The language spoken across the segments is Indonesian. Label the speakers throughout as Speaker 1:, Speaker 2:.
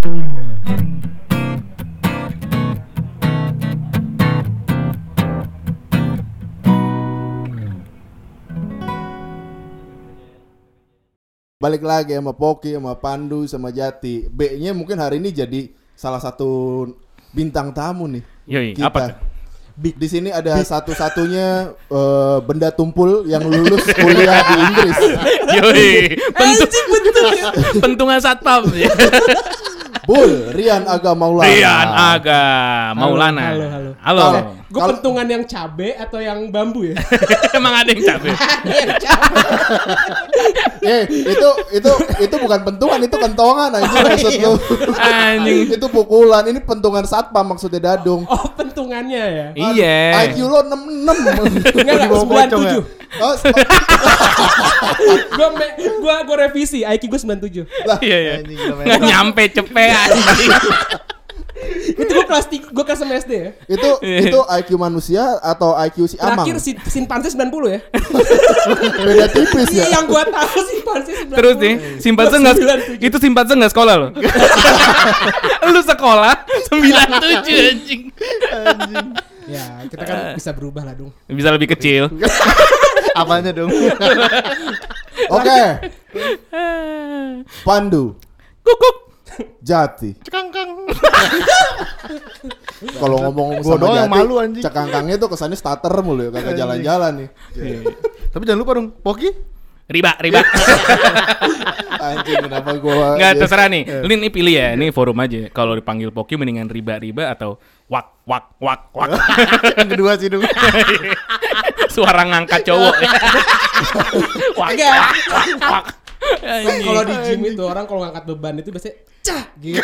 Speaker 1: Balik lagi sama Poki, sama Pandu, sama Jati. B-nya mungkin hari ini jadi salah satu bintang tamu nih.
Speaker 2: Yoi,
Speaker 1: kita.
Speaker 2: apa tuh?
Speaker 1: Di sini ada satu-satunya benda tumpul yang lulus kuliah di Inggris.
Speaker 2: Yoi, pentungan satpam.
Speaker 1: Bul, Rian Aga Maulana.
Speaker 2: Rian Aga Maulana.
Speaker 3: Halo.
Speaker 2: Halo.
Speaker 3: Gue pentungan yang cabe atau yang bambu ya?
Speaker 2: Emang ada yang capek.
Speaker 1: Itu bukan pentungan, itu kentongan anjing maksud lu.
Speaker 2: Anjing.
Speaker 1: Itu pukulan, ini pentungan satpam maksudnya Dadung.
Speaker 3: Oh, pentungannya ya?
Speaker 2: Iya.
Speaker 1: IQ lo 66.
Speaker 3: Enggak, 97.
Speaker 1: Oh,
Speaker 3: Gue revisi, IQ gue 97.
Speaker 2: Iya. Nggak nyampe cepet anjing.
Speaker 3: Itu gue kelas 6 SD ya?
Speaker 1: itu IQ manusia atau IQ si Amang?
Speaker 3: Terakhir simpanse 90 ya?
Speaker 1: Beda tipis ya?
Speaker 3: Yang gue tahu simpanse 90.
Speaker 2: Terus nih, simpanse nggak sekolah lo. Lu sekolah 97 anjing.
Speaker 3: Ya, kita kan bisa berubah lah dong.
Speaker 2: Bisa lebih kecil.
Speaker 4: Apanya dong?
Speaker 1: Oke. Pandu,
Speaker 2: Kukuk.
Speaker 1: Jati.
Speaker 4: Cekangkang.
Speaker 1: Kalau ngomong
Speaker 4: Gua
Speaker 1: sama
Speaker 4: doang yang
Speaker 1: Jati,
Speaker 4: malu, anjing.
Speaker 1: cekangkangnya tuh kesannya starter mulu ya, kagak jalan-jalan nih.
Speaker 4: Tapi jangan lupa dong, Poki.
Speaker 2: Riba.
Speaker 1: Anjing kenapa gua
Speaker 2: Nggak, terserah nih. Lu nih pilih ya, ini forum aja. Kalau dipanggil Poki mendingan riba atau wak.
Speaker 4: Yang kedua sih dong.
Speaker 2: Suara ngangkat cowok. Wak.
Speaker 3: Kalau di gym itu orang kalau ngangkat beban itu biasanya cah gitu.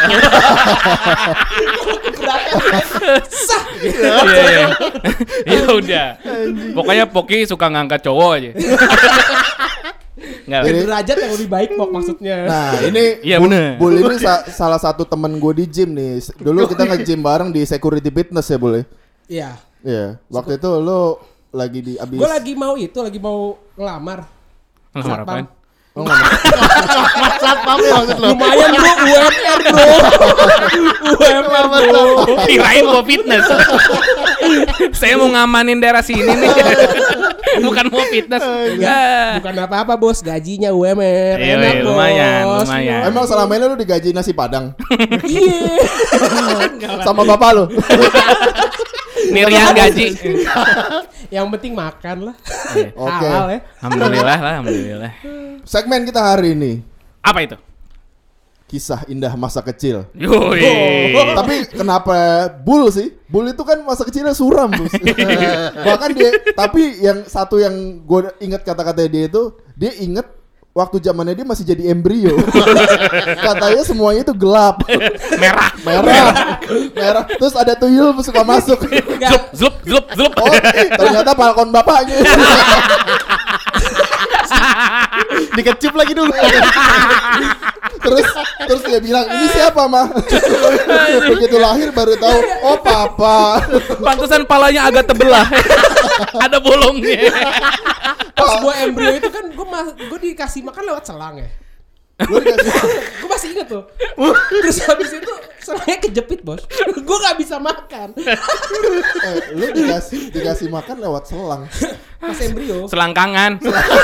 Speaker 3: Sah gitu.
Speaker 2: Iya. Ya udah. Pokoknya Poki suka ngangkat cowok aja. Enggak.
Speaker 3: Derajat yang lebih baik Pok maksudnya.
Speaker 1: Nah ini
Speaker 2: Iya bener.
Speaker 1: Bul ini salah satu temen gue di gym nih. Dulu kita nge-gym bareng di Security Fitness ya Bul ya?
Speaker 3: Iya.
Speaker 1: Iya. Waktu itu lu lagi di abis.
Speaker 3: Gue lagi mau ngelamar.
Speaker 2: Ngelamar apaan?
Speaker 1: Oh, nggak
Speaker 4: Satpam ya maksud lo.
Speaker 3: Lumayan bro, UMR bro.
Speaker 2: Kirain mau fitness. Saya mau ngamanin daerah sini nih. Bukan mau fitness.
Speaker 3: Bukan apa-apa bos, gajinya UMR.
Speaker 2: Iya,
Speaker 3: Enak
Speaker 2: lumayan,
Speaker 3: bos.
Speaker 2: lumayan.
Speaker 1: Emang selama ini lu digaji nasi padang?
Speaker 3: Iya.
Speaker 1: Sama bapak lu?
Speaker 2: Nirian gaji.
Speaker 3: Yang penting makan lah.
Speaker 1: Oke.
Speaker 3: Halal ya.
Speaker 2: Alhamdulillah.
Speaker 1: Segmen kita hari ini
Speaker 2: Apa itu?
Speaker 1: kisah indah masa kecil.
Speaker 2: Yoi.
Speaker 1: Tapi kenapa Bul sih? Bul itu kan masa kecilnya suram, Bus. Bahkan tapi yang satu yang gue inget kata-katanya dia inget waktu zamannya dia masih jadi embrio. Katanya semuanya itu gelap. Merah. Terus ada tuyul suka masuk.
Speaker 2: Zlup.
Speaker 1: Oh, ternyata balkon bapaknya.
Speaker 4: Dikecup lagi dulu.
Speaker 1: Terus dia bilang, "Ini siapa, Mah?" Begitu lahir baru tahu, "Oh, papa."
Speaker 2: Pantesan palanya agak tebelah. Ada bolongnya.
Speaker 3: Pas gue embrio itu kan gue dikasih makan lewat selang ya. Gue masih inget tuh. Terus habis itu selangnya kejepit bos. Gue gak bisa makan.
Speaker 1: Lu dikasih makan lewat selang.
Speaker 3: Pas embrio.
Speaker 2: Selangkangan.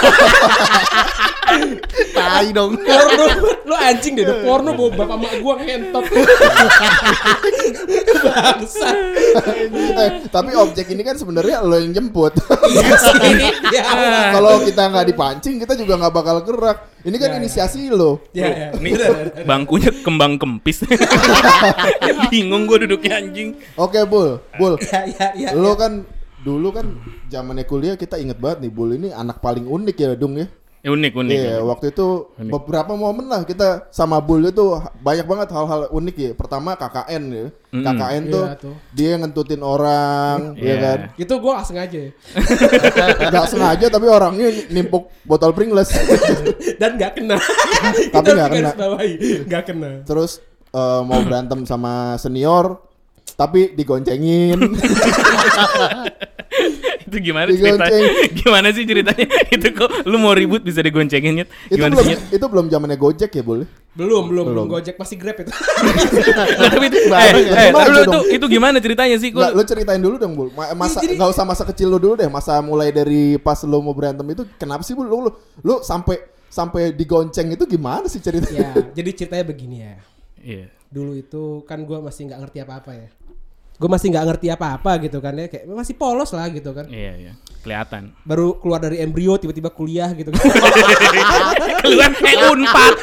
Speaker 4: Tai dong.
Speaker 3: Porno. Lu anjing deh. Porno bawa bapak mak gue ngentot. Bangsa.
Speaker 1: Tapi objek ini kan sebenarnya lo yang jemput.
Speaker 3: Iya sih. Ya.
Speaker 1: Kalau kita nggak dipancing, kita juga nggak bakal gerak. Ini kan inisiasi lo.
Speaker 3: Ya.
Speaker 2: Nih bangkunya kembang kempis. Bingung gue duduknya anjing.
Speaker 1: Oke, Bul.
Speaker 3: Ya.
Speaker 1: Lo kan dulu kan zamannya kuliah kita inget banget nih, Bul ini anak paling unik ya, Dung ya.
Speaker 2: Unik.
Speaker 1: Iya, waktu itu beberapa momen lah kita sama Bul itu banyak banget hal-hal unik ya. Pertama KKN ya. KKN tuh,
Speaker 3: Iya, tuh.
Speaker 1: dia ngentutin orang, ya kan.
Speaker 3: Itu gue gak sengaja ya.
Speaker 1: Gak sengaja tapi orangnya nimpuk botol Pringles.
Speaker 3: Dan gak kena.
Speaker 1: Tapi nggak kena.
Speaker 3: Gak kena.
Speaker 1: Terus mau berantem sama senior tapi digoncengin.
Speaker 2: Itu gimana
Speaker 1: Digonceng.
Speaker 2: ceritanya? Gimana sih ceritanya? Itu kok lu mau ribut bisa digoncengin Nyet? Gimana sih Nyet?
Speaker 1: Itu belum zamannya Gojek ya, boleh?
Speaker 3: Belum Gojek masih Grab itu.
Speaker 2: Nggak, tapi itu
Speaker 1: Bareng ya. Gimana
Speaker 2: dulu
Speaker 1: dong?
Speaker 2: itu gimana ceritanya sih?
Speaker 1: Nggak, lu ceritain dulu dong, Bul. Masa
Speaker 3: Jadi-
Speaker 1: nggak usah masa kecil lu dulu deh. Masa mulai dari pas lu mau berantem itu kenapa sih, Bul? Lu sampai digonceng itu gimana sih ceritanya?
Speaker 3: Ya, jadi ceritanya begini ya.
Speaker 2: Iya.
Speaker 3: Dulu itu kan gue masih nggak ngerti apa-apa ya. Gue masih nggak ngerti apa-apa gitu kan ya. Kayak masih polos lah gitu kan.
Speaker 2: Iya. Kelihatan.
Speaker 3: Baru keluar dari embrio tiba-tiba kuliah gitu kan.
Speaker 2: Keluar Unpad.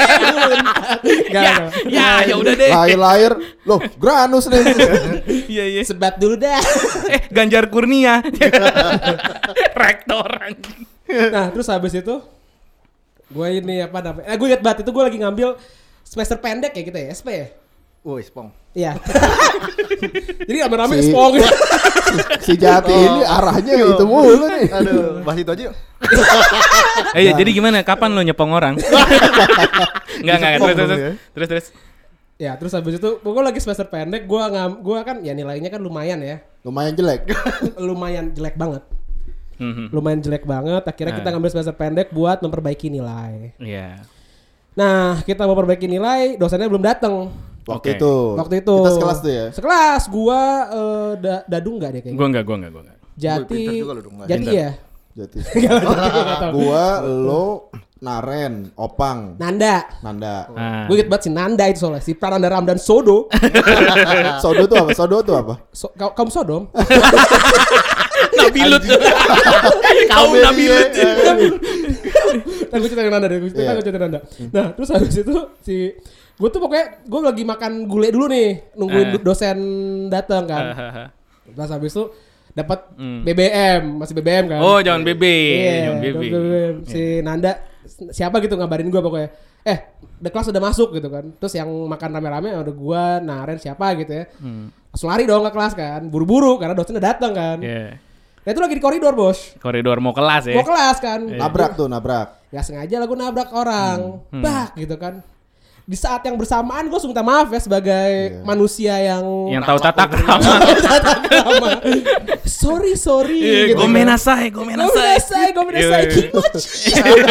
Speaker 3: Gak,
Speaker 2: Ya udah deh.
Speaker 1: Lahir-lahir, loh, Granus nih.
Speaker 2: Iya.
Speaker 3: sebat dulu dah.
Speaker 2: Ganjar Kurnia. Rektor anjing.
Speaker 3: Nah terus habis itu gue ini apa namanya? Gue inget banget itu gue lagi ngambil semester pendek ya kita ya SP ya.
Speaker 4: Woi, Spong.
Speaker 3: Iya. Jadi rame-rame
Speaker 1: Si-
Speaker 3: spong.
Speaker 1: Si Jati ini arahnya itu mulu nih.
Speaker 4: Aduh, bahas itu aja yuk.
Speaker 2: Iya, jadi gimana? Kapan lo nyepong orang? Enggak. Terus.
Speaker 3: Ya terus habis itu gue lagi semester pendek. Gue kan ya nilainya kan lumayan ya.
Speaker 1: Lumayan jelek.
Speaker 3: Lumayan jelek banget.
Speaker 2: Mhm.
Speaker 3: Lumayan jelek banget. Akhirnya kita ngambil semester pendek buat memperbaiki nilai.
Speaker 2: Iya.
Speaker 3: Nah kita mau perbaiki nilai, dosennya belum datang.
Speaker 1: Waktu
Speaker 2: Oke.
Speaker 1: itu.
Speaker 3: Waktu itu.
Speaker 1: Kita sekelas tuh ya.
Speaker 3: Sekelas, gua Dadung enggak deh kayaknya.
Speaker 2: Gua enggak.
Speaker 3: Jati.
Speaker 4: Pinter juga lu dong, nggak?
Speaker 3: Jati
Speaker 2: Pinter.
Speaker 3: ya.
Speaker 1: Jati.
Speaker 3: Nggak tahu.
Speaker 1: Gua, lo, Naren, Opang,
Speaker 3: Nanda.
Speaker 1: Nanda.
Speaker 2: Ah.
Speaker 3: Gue inget banget si Nanda itu soalnya si Prananda Ramdan Sodo.
Speaker 1: Sodo tuh apa?
Speaker 3: Kaum Sodom.
Speaker 2: Nabilut. Kau Nabilut.
Speaker 3: Nah, gue ceritain Nanda deh. Gue ceritain Nanda. Nah, terus habis itu si gue tuh pokoknya gue lagi makan gulai dulu nih, nungguin dosen datang kan. Terus habis itu dapat BBM, masih BBM kan.
Speaker 2: Oh, jangan BB.
Speaker 3: Iya,
Speaker 2: Jangan BB.
Speaker 3: BBM. Si Nanda siapa gitu ngabarin gue pokoknya. The kelas udah masuk gitu kan. Terus yang makan rame-rame ada gue, Naren siapa gitu ya. Langsung lari dong ke kelas kan. Buru-buru karena dosen udah datang kan.
Speaker 2: Iya.
Speaker 3: Nah itu lagi di koridor bos.
Speaker 2: Koridor mau kelas ya.
Speaker 3: Mau kelas kan.
Speaker 1: Nabrak.
Speaker 3: Gak sengaja lah gue nabrak orang. Bak gitu kan. Di saat yang bersamaan gue langsung minta maaf ya sebagai manusia yang
Speaker 2: Yang tahu tata krama.
Speaker 3: krama. Sorry gitu.
Speaker 2: Gomenasai.
Speaker 3: Gomenasai
Speaker 2: Iya.
Speaker 3: kimochi.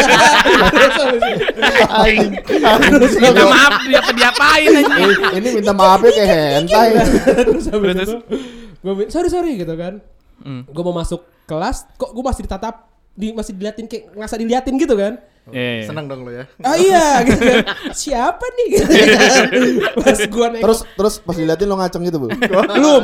Speaker 2: Minta maaf diapain aja.
Speaker 1: Ini minta maafnya kayak hentai.
Speaker 3: Terus habis
Speaker 2: Terus.
Speaker 3: itu gue sorry gitu kan. Gue mau masuk kelas kok gue masih ditatap masih diliatin kayak ngerasa diliatin gitu kan.
Speaker 2: Iya.
Speaker 4: Senang dong lu ya.
Speaker 3: Ah iya gitu kan. Siapa nih gitu kan. Pas gue naik
Speaker 1: Terus pas diliatin lo ngaceng gitu, Bu.
Speaker 3: belum.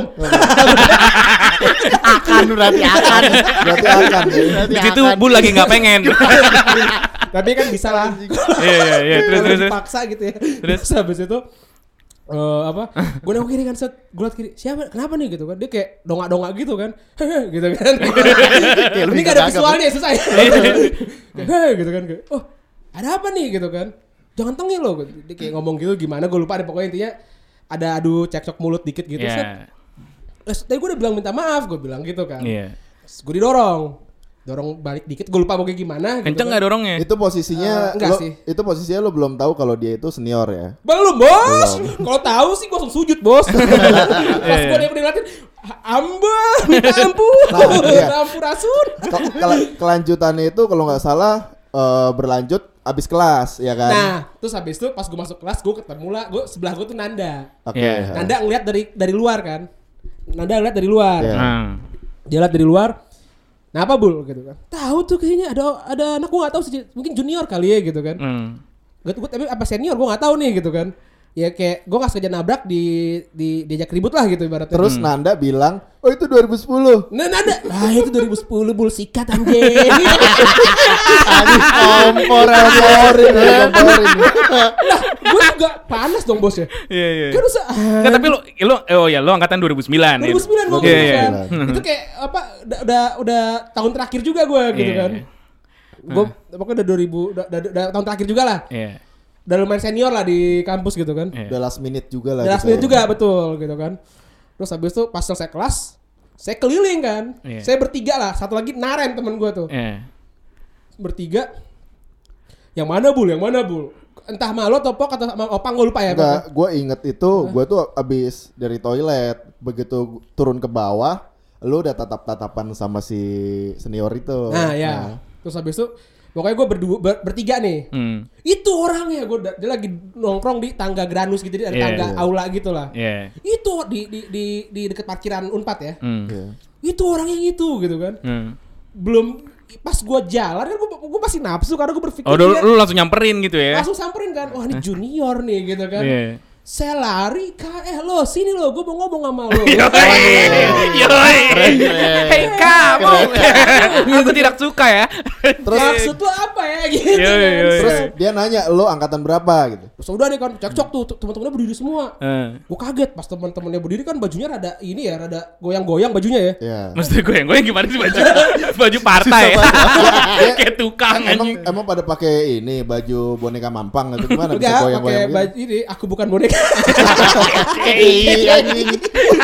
Speaker 4: Akan berarti akan.
Speaker 1: Berarti akan ya.
Speaker 2: Di situ Bu lagi nggak pengen.
Speaker 3: Tapi kan bisa lah.
Speaker 2: Iya. Terus.
Speaker 3: Dipaksa gitu ya.
Speaker 2: Terus?
Speaker 3: Habis itu gue nengok kiri kan set gue liat kiri siapa kenapa nih gitu kan dia kayak dongak gitu kan gitu kan ini gak ada visualnya susah ya gitu kan kayak, oh ada apa nih gitu kan jangan tengil loh dia kayak ngomong gitu gimana gue lupa deh pokoknya intinya ada adu cekcok mulut dikit gitu
Speaker 2: Iya.
Speaker 3: tadi gue udah bilang minta maaf gue bilang gitu kan
Speaker 2: Iya.
Speaker 3: gue dorong balik dikit gue lupa pokoknya gimana gitu
Speaker 2: Kenceng
Speaker 3: kan.
Speaker 2: nggak dorongnya?
Speaker 1: Itu posisinya
Speaker 3: Enggak sih.
Speaker 1: Itu posisinya lo belum tahu kalau dia itu senior ya.
Speaker 3: Belum bos. Kalau tahu sih gue langsung sujud bos. Pas gue ngeliatin, minta ampun,
Speaker 1: iya.
Speaker 3: Rasul.
Speaker 1: Kelanjutannya itu kalau nggak salah berlanjut abis kelas ya kan.
Speaker 3: Nah, terus habis itu pas gue masuk kelas gue ketemu lah, sebelah gue tuh Nanda.
Speaker 1: Oke.
Speaker 2: Iya.
Speaker 3: Nanda ngeliat dari luar kan. Nanda ngeliat dari luar.
Speaker 1: Iya.
Speaker 2: Nah.
Speaker 3: Dia liat dari luar. Nah apa Bul gitu kan. Tahu tuh kayaknya ada anak gue nggak tahu sih mungkin junior kali ya gitu kan. Gue tapi apa senior gue nggak tahu nih gitu kan. Ya kayak gue nggak sengaja nabrak diajak ribut lah gitu ibaratnya.
Speaker 1: Terus Nanda bilang, oh itu 2010.
Speaker 3: Nah Nanda, itu 2010 Bul sikat anjing.
Speaker 1: Komporin.
Speaker 3: Lah, gue juga panas dong bos ya.
Speaker 2: Iya.
Speaker 3: Kan usah.
Speaker 2: Nggak, tapi lo angkatan 2009.
Speaker 3: 2009 gue
Speaker 2: Iya.
Speaker 3: kan. Itu kayak apa? Udah tahun terakhir juga gue gitu
Speaker 2: Iya.
Speaker 3: kan. Gue pokoknya udah 2000 udah tahun terakhir juga lah.
Speaker 2: Iya.
Speaker 3: Udah lumayan senior lah di kampus gitu kan.
Speaker 2: Iya.
Speaker 1: Udah last minute juga lah.
Speaker 3: Udah last
Speaker 1: gitu
Speaker 3: minute
Speaker 1: ya.
Speaker 3: juga betul gitu kan. Terus habis itu pas selesai kelas, saya keliling kan.
Speaker 2: Iya.
Speaker 3: Saya bertiga lah, satu lagi Naren temen gue tuh.
Speaker 2: Iya.
Speaker 3: Bertiga. Yang mana Bul? Entah sama lo atau Pok atau sama Opang gue lupa ya.
Speaker 1: Enggak, gue inget itu, gue tuh abis dari toilet, begitu turun ke bawah, lu udah tatap-tatapan sama si senior itu.
Speaker 3: Nah ya. Terus habis itu pokoknya gue bertiga nih. Itu orangnya dia lagi nongkrong di tangga Granus gitu, ada tangga aula gitu lah. Itu di dekat parkiran Unpad ya. Itu orang yang itu gitu kan. Belum pas gue jalan kan gue masih nafsu karena gue berpikir
Speaker 2: lu langsung nyamperin gitu ya.
Speaker 3: Langsung samperin kan. Wah, ini junior nih gitu kan. Saya lari, lo sini lo, gue mau ngomong sama lo.
Speaker 2: Yoi. Hei kamu. Aku tidak suka ya.
Speaker 3: Terus maksud lo apa ya gitu.
Speaker 1: Terus dia nanya lo angkatan berapa gitu.
Speaker 3: Terus udah deh kan cekcok tuh teman-temannya berdiri semua. Gue kaget pas teman-temannya berdiri kan bajunya rada goyang-goyang bajunya ya.
Speaker 2: Maksudnya goyang-goyang gimana sih baju? Baju partai. Kayak tukang anjing.
Speaker 1: Emang pada pakai ini baju boneka mampang gitu gimana bisa
Speaker 3: goyang-goyang? Enggak, pakai baju ini aku bukan boneka.
Speaker 4: Anjing.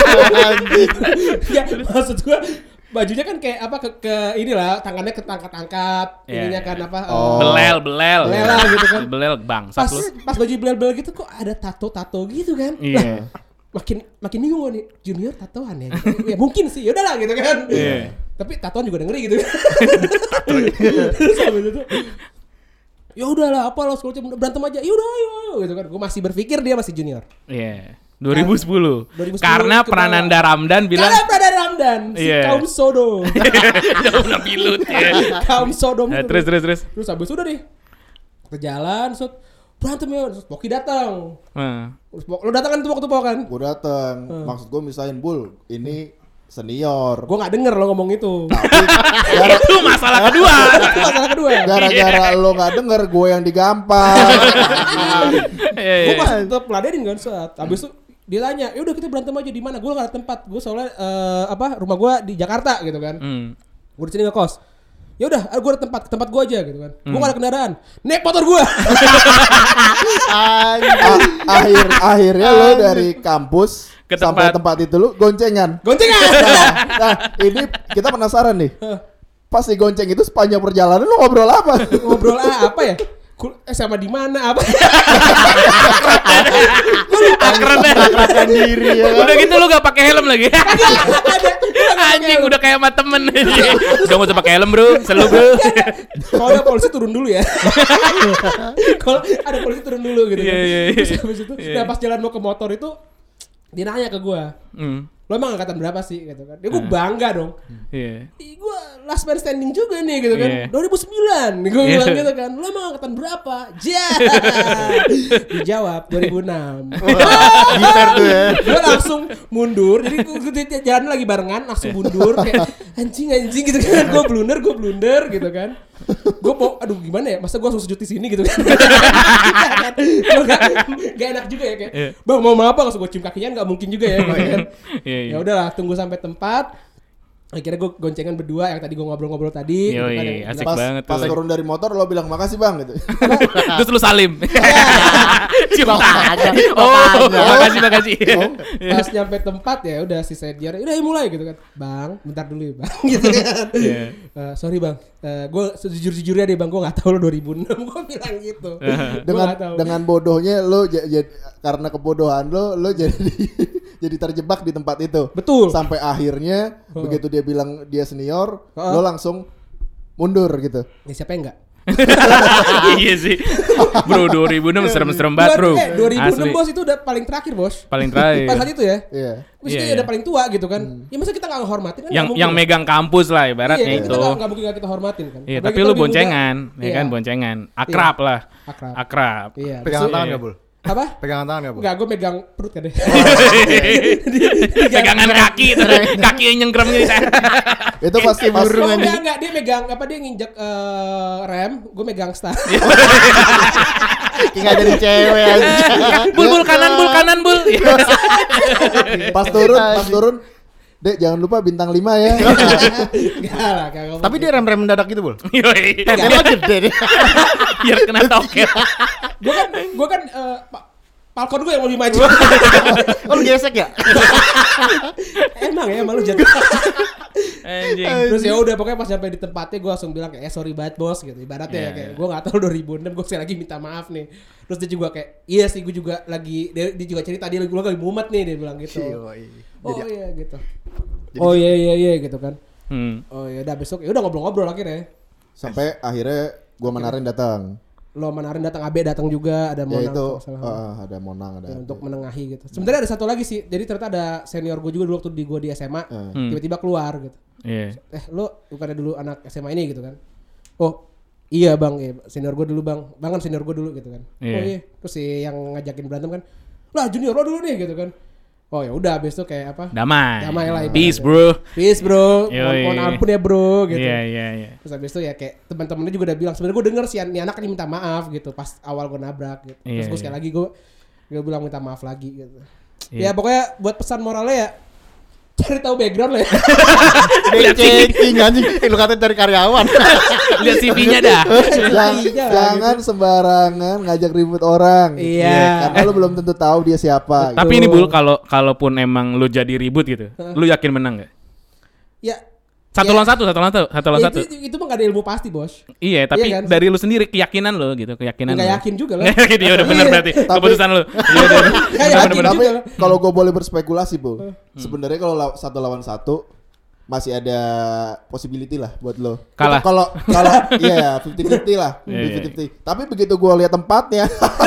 Speaker 3: Ya, maksud gua bajunya kan kayak apa ke inilah tangannya ketangkat-angkat ininya kan apa
Speaker 2: belel
Speaker 3: lah gitu kan.
Speaker 2: Belel bangsat lu.
Speaker 3: Pas baju belel gitu kok ada tato gitu kan. Makin bingung nih junior tatoan ya. Ya mungkin sih, ya udahlah gitu kan. Tapi tatoan juga ngeri gitu kan. Terus habis itu ya udahlah apa lo sekolah berantem aja. Ya udah ayo gitu kan. Gue masih berpikir dia masih junior.
Speaker 2: 2010. Karena Prananda Ramdan bilang
Speaker 3: si kaum Sodom.
Speaker 2: Jauh lah pilut ya.
Speaker 3: Kaum Sodom.
Speaker 2: Terus.
Speaker 3: Terus habis udah deh. Ke jalan, berantem ya. Terus Poki datang. Lo datang kan tuh waktu Pok kan?
Speaker 1: Gue datang. Maksud gue misahin Bul, ini senior.
Speaker 3: Gue nggak denger lo ngomong itu.
Speaker 1: Tapi
Speaker 2: itu masalah kedua.
Speaker 1: Gara-gara lo nggak denger, gue yang digampar.
Speaker 3: Gue pas tetap ladenin kan saat. Abis itu dia tanya, ya udah kita berantem aja di mana? Gue nggak ada tempat. Gue soalnya rumah gue di Jakarta gitu kan. Gue di sini ngekos. Ya udah, gue ada tempat gue aja gitu kan. Gue gak ada kendaraan, naik motor gue.
Speaker 1: Akhirnya lo dari kampus sampai tempat itu lo goncengan. Nah, ini kita penasaran nih. Pas di gonceng itu sepanjang perjalanan lo ngobrol apa?
Speaker 3: Ngobrol apa ya? Sama di mana apa?
Speaker 2: Akrabkan diri ya. Udah gitu lu gak pakai helm lagi. Anjing udah kayak sama temen. Udah gak usah pakai helm bro, selalu bro.
Speaker 3: Kalau ada polisi turun dulu ya. Kalau ada polisi turun dulu gitu. Terus habis itu, nah pas jalan mau ke motor itu dia nanya ke gue, lo emang angkatan berapa sih gitu kan? Dia gue bangga dong. Gue last man standing juga nih gitu kan. 2009 gue bilang gitu kan. Lo emang angkatan berapa? Dijawab 2006.
Speaker 4: Gitar tuh ya.
Speaker 3: Gue langsung mundur. Jadi gue jalan lagi barengan langsung mundur kayak anjing gitu kan. Gue blunder gitu kan. Gue mau aduh gimana ya? Masa gue langsung sujud di sini gitu kan. Gak enak juga ya kayak. Bang mau apa langsung gue cium kakinya enggak mungkin juga ya gitu kan. Ya udahlah tunggu sampai tempat. Akhirnya gue goncengan berdua yang tadi gue ngobrol-ngobrol tadi.
Speaker 2: Asik banget.
Speaker 1: Pas turun dari motor lo bilang makasih bang gitu.
Speaker 2: Terus lu salim. Cium tangan. Makasih.
Speaker 3: Pas nyampe tempat ya udah si senior udah mulai gitu kan. Bang, bentar dulu ya bang. Gitu kan. Sorry bang, gue sejujur-jujurnya deh bang, gue nggak tahu lo 2006 gue bilang gitu.
Speaker 1: Dengan bodohnya lo karena kebodohan lo jadi terjebak di tempat itu.
Speaker 3: Betul.
Speaker 1: Sampai akhirnya begitu dia bilang dia senior, lo langsung mundur gitu.
Speaker 3: Ya siapa yang enggak?
Speaker 2: Iya sih. Bro 2006 serem-serem banget bro.
Speaker 3: 2006 bos itu udah paling terakhir bos.
Speaker 2: Paling terakhir.
Speaker 3: Pas saat itu ya.
Speaker 1: Iya.
Speaker 3: Maksudnya udah paling tua gitu kan. Ya masa kita gak ngehormatin kan.
Speaker 2: Yang megang kampus lah ibaratnya itu.
Speaker 3: Iya kita gak mungkin kita hormatin kan.
Speaker 2: Iya tapi lu boncengan. Ya kan boncengan. Akrab lah. Akrab.
Speaker 3: Iya.
Speaker 4: Pegangan tangan gak Bul?
Speaker 3: Apa?
Speaker 4: Pegangan tangan gak Bul?
Speaker 3: Enggak, gue megang perut kan deh.
Speaker 2: Pegangan kaki itu. Kaki yang nyengkrem gitu.
Speaker 1: Itu pasti burung
Speaker 3: aja. Enggak, dia megang apa dia nginjek rem, gue megang stang.
Speaker 4: Kayak jadi cewek aja.
Speaker 2: Bul kanan bul.
Speaker 1: Pas turun Dek jangan lupa bintang 5 ya.
Speaker 3: Enggak lah kagak.
Speaker 4: Tapi dia rem mendadak gitu Bul.
Speaker 2: Yoi.
Speaker 4: Dia gede deh.
Speaker 2: Biar kena toket.
Speaker 3: Gue kan Falcon gue yang lebih maju.
Speaker 4: Oh lu gesek ya?
Speaker 3: Emang lu jatuh.
Speaker 2: Anjing.
Speaker 3: Terus ya udah pokoknya pas sampai di tempatnya gue langsung bilang kayak sorry banget bos gitu ibaratnya kayak gue nggak tahu 2006 gue sekali lagi minta maaf nih. Terus dia juga kayak iya sih gue juga lagi dia juga cerita dia lagi mumet nih dia bilang gitu. Oh iya gitu. Oh iya gitu kan. Oh ya udah besok ya udah ngobrol-ngobrol akhirnya.
Speaker 1: Sampai akhirnya gue Manarin datang.
Speaker 3: Lo Manarin datang, Abe datang juga, ada Monang.
Speaker 1: Ya itu ada Monang ada.
Speaker 3: Ya, untuk menengahi gitu. Sebenarnya ada satu lagi sih. Jadi ternyata ada senior gue juga dulu waktu gue di SMA, tiba-tiba keluar gitu.
Speaker 2: Iya.
Speaker 3: Lo bukannya dulu anak SMA ini gitu kan? Oh iya bang, ya, senior gue dulu bang kan senior gue dulu gitu kan. Oh iya. Terus si yang ngajakin berantem kan, lah junior lo dulu nih gitu kan. Oh ya udah abis itu kayak apa?
Speaker 2: Damai
Speaker 3: lah.
Speaker 2: Peace bro.
Speaker 3: Peace bro.
Speaker 2: Yoi.
Speaker 3: Mohon ampun ya bro gitu.
Speaker 2: Iya.
Speaker 3: Terus abis itu ya kayak teman-temannya juga udah bilang sebenarnya gue denger si anak ini minta maaf gitu pas awal gue nabrak gitu. Terus gue sekali lagi gue bilang minta maaf lagi gitu. Ya pokoknya buat pesan moralnya ya cari tahu background lah ya.
Speaker 4: Checking anjing. Lu katanya dari karyawan.
Speaker 2: Lihat CV-nya dah.
Speaker 1: Jangan sembarangan ngajak ribut orang.
Speaker 3: Iya.
Speaker 1: Karena lu belum tentu tahu dia siapa.
Speaker 2: Tapi ini Bul, kalaupun emang lu jadi ribut gitu, lu yakin menang gak?
Speaker 3: Ya.
Speaker 2: Satu lawan satu.
Speaker 3: Itu mah gak ada ilmu pasti bos.
Speaker 2: Iya, tapi
Speaker 3: kan?
Speaker 2: dari lu sendiri keyakinan lu gitu, keyakinan.
Speaker 3: Nggak
Speaker 2: lu.
Speaker 3: yakin juga lah.
Speaker 2: Iya udah benar berarti keputusan lu. Iya udah.
Speaker 1: Tapi kalau gue boleh berspekulasi bu, sebenarnya kalau 1 lawan 1 masih ada possibility lah buat lo.
Speaker 2: Kalah.
Speaker 1: Kalau iya 50-50 lah, 50-50. Tapi begitu gue lihat tempatnya,